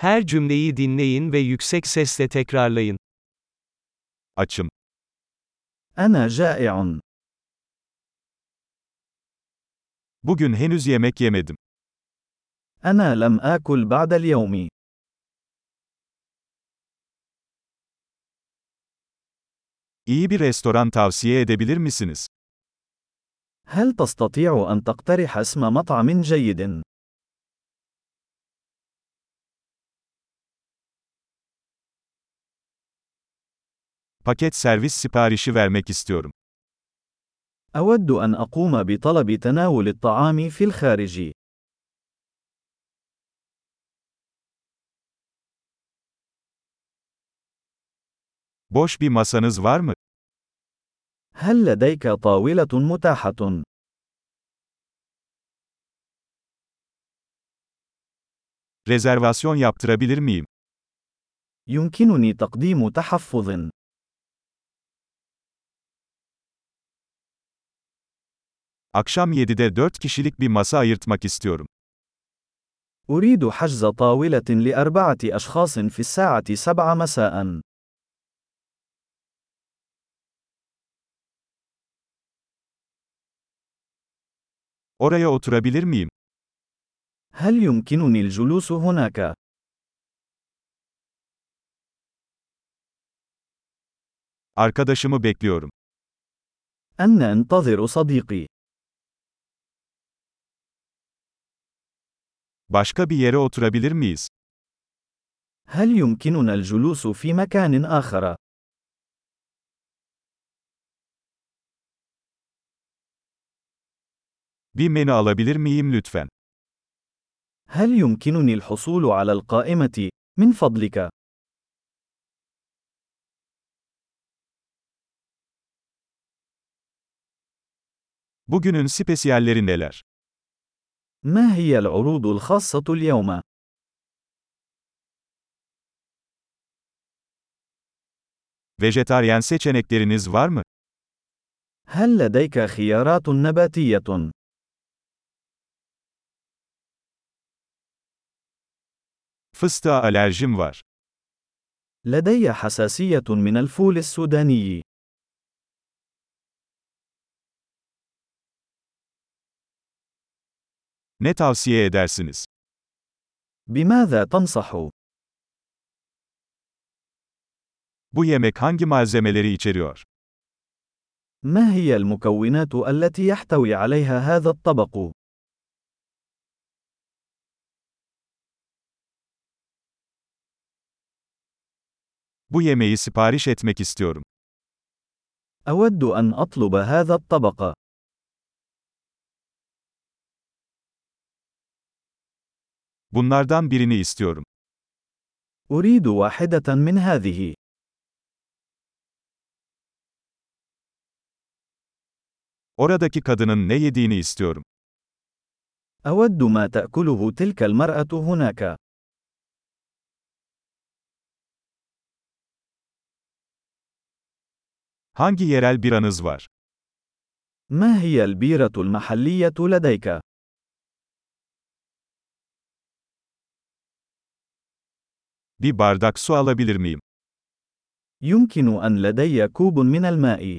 Her cümleyi dinleyin ve yüksek sesle tekrarlayın. Açım. أنا جائع. Bugün henüz yemek yemedim. أنا لم آكل بعد اليوم. İyi bir restoran tavsiye edebilir misiniz? هل تستطيع أن تقترح اسم مطعم جيد؟ Paket servis siparişi vermek istiyorum. أود أن أقوم بطلب تناول الطعام في الخارج. Boş bir masanız var mı? هل لديك طاولة متاحة؟ Rezervasyon yaptırabilir miyim? يمكنني تقديم تحفظ. Akşam 7'de 4 kişilik bir masa ayırtmak istiyorum. أريد حجز طاولة لأربعة أشخاص في الساعة 7 مساء. Oraya oturabilir miyim? هل يمكنني الجلوس هناك؟ Arkadaşımı bekliyorum. أنا أنتظر صديقي. Başka bir yere oturabilir miyiz? هل يمكننا الجلوس في مكان آخر؟ Bir menü alabilir miyim lütfen? هل يمكنني الحصول على القائمة؟ من فضلك. Bugünün spesiyalleri neler? ما هي العروض الخاصة اليوم؟ Vejetaryen seçenekleriniz var mı? هل لديك خيارات نباتية؟ Fıstığa alerjim var. لدي حساسية من الفول السوداني. Ne tavsiye edersiniz? بماذا تنصح؟ Bu yemek hangi malzemeleri içeriyor? ما هي المكونات التي يحتوي عليها هذا الطبق؟ Bu yemeği sipariş etmek istiyorum. أود أن أطلب هذا الطبق. Bunlardan birini istiyorum. أريد واحدة من هذه. Oradaki kadının ne yediğini istiyorum. أود ما تأكله تلك المرأة هناك. Hangi yerel biranız var? ما هي البيرة المحلية لديك؟ Bir bardak su alabilir miyim? يمكن أن لدي كوب من الماء.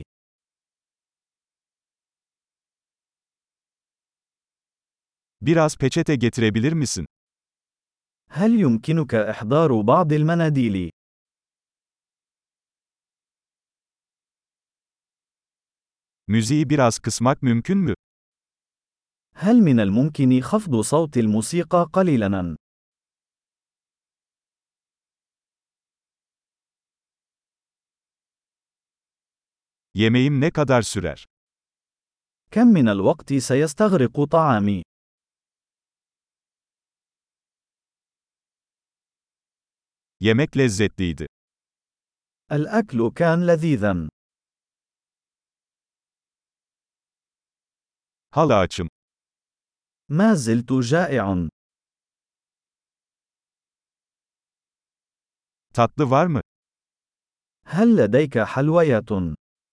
Biraz peçete getirebilir misin? هل يمكنك إحضار بعض المناديل؟ Müziği biraz kısmak mümkün mü? هل من الممكن خفض صوت الموسيقى قليلاً؟ Yemeğim ne kadar sürer? كم من الوقت سيستغرق طعامي؟ Yemek lezzetliydi. الأكل كان لذيذاً. Hala açım. ما زلت جائع. Tatlı var mı? هل لديك حلويات؟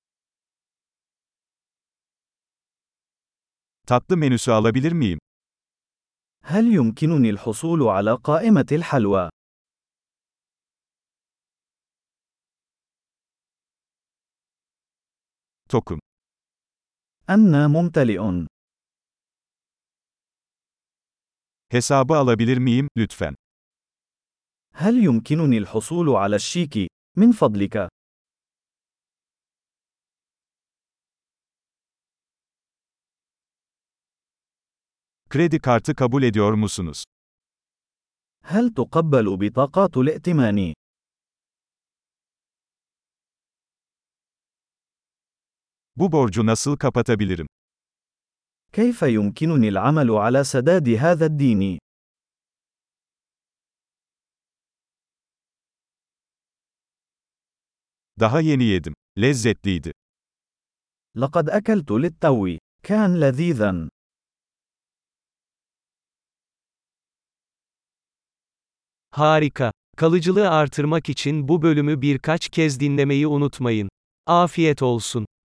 Tatlı menüsü alabilir miyim? هل يمكنني الحصول على قائمة الحلوى؟ tokum. أنا ممتلئ. Hesabı alabilir miyim, lütfen? هل يمكنني الحصول على الشيك؟ من فضلك. Kredi kartı kabul ediyor musunuz? هل تقبل بطاقات الائتمان؟ Bu borcu nasıl kapatabilirim? كيف يمكنني العمل على سداد هذا الدين؟ Daha yeni yedim. Lezzetliydi. لقد أكلت للتو. كان لذيذا. Harika. Kalıcılığı artırmak için bu bölümü birkaç kez dinlemeyi unutmayın. Afiyet olsun.